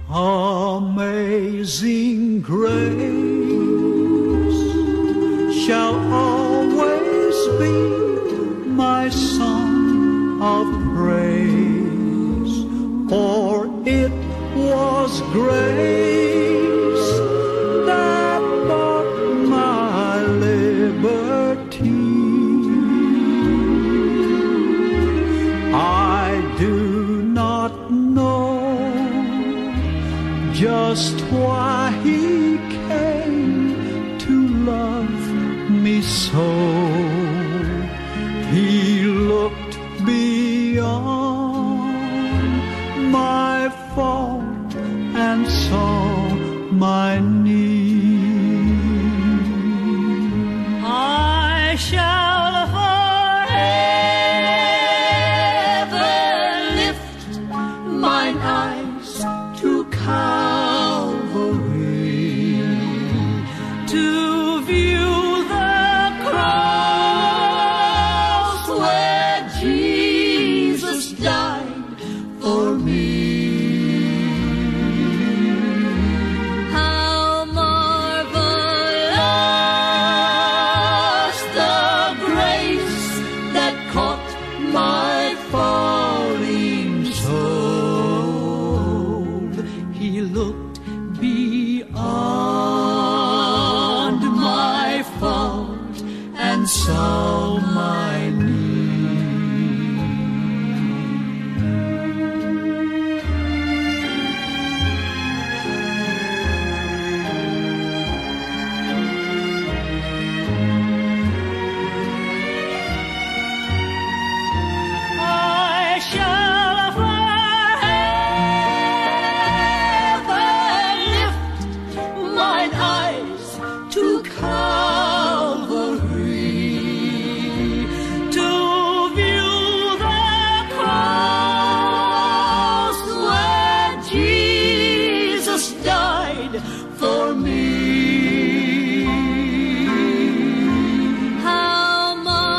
Amazing grace shall always be my song of praise, for it was grace that bought my liberty. I do not know just why he came to love me so. He looked beyond my fault and saw my need. I shall forever lift mine eyes to Calvary, to view the cross where Jesus died for me. How marvelous the grace that caught my falling soul. He looked beyond my fault and saw my need. I shall forever lift mine eyes to Calvary, to view the cross where Jesus died for me. How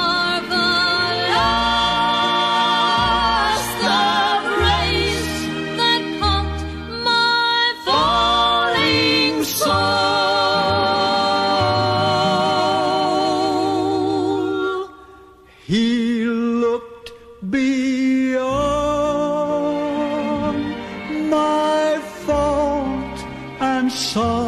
marvelous the grace that caught my falling soul. He looked beyond my fault and saw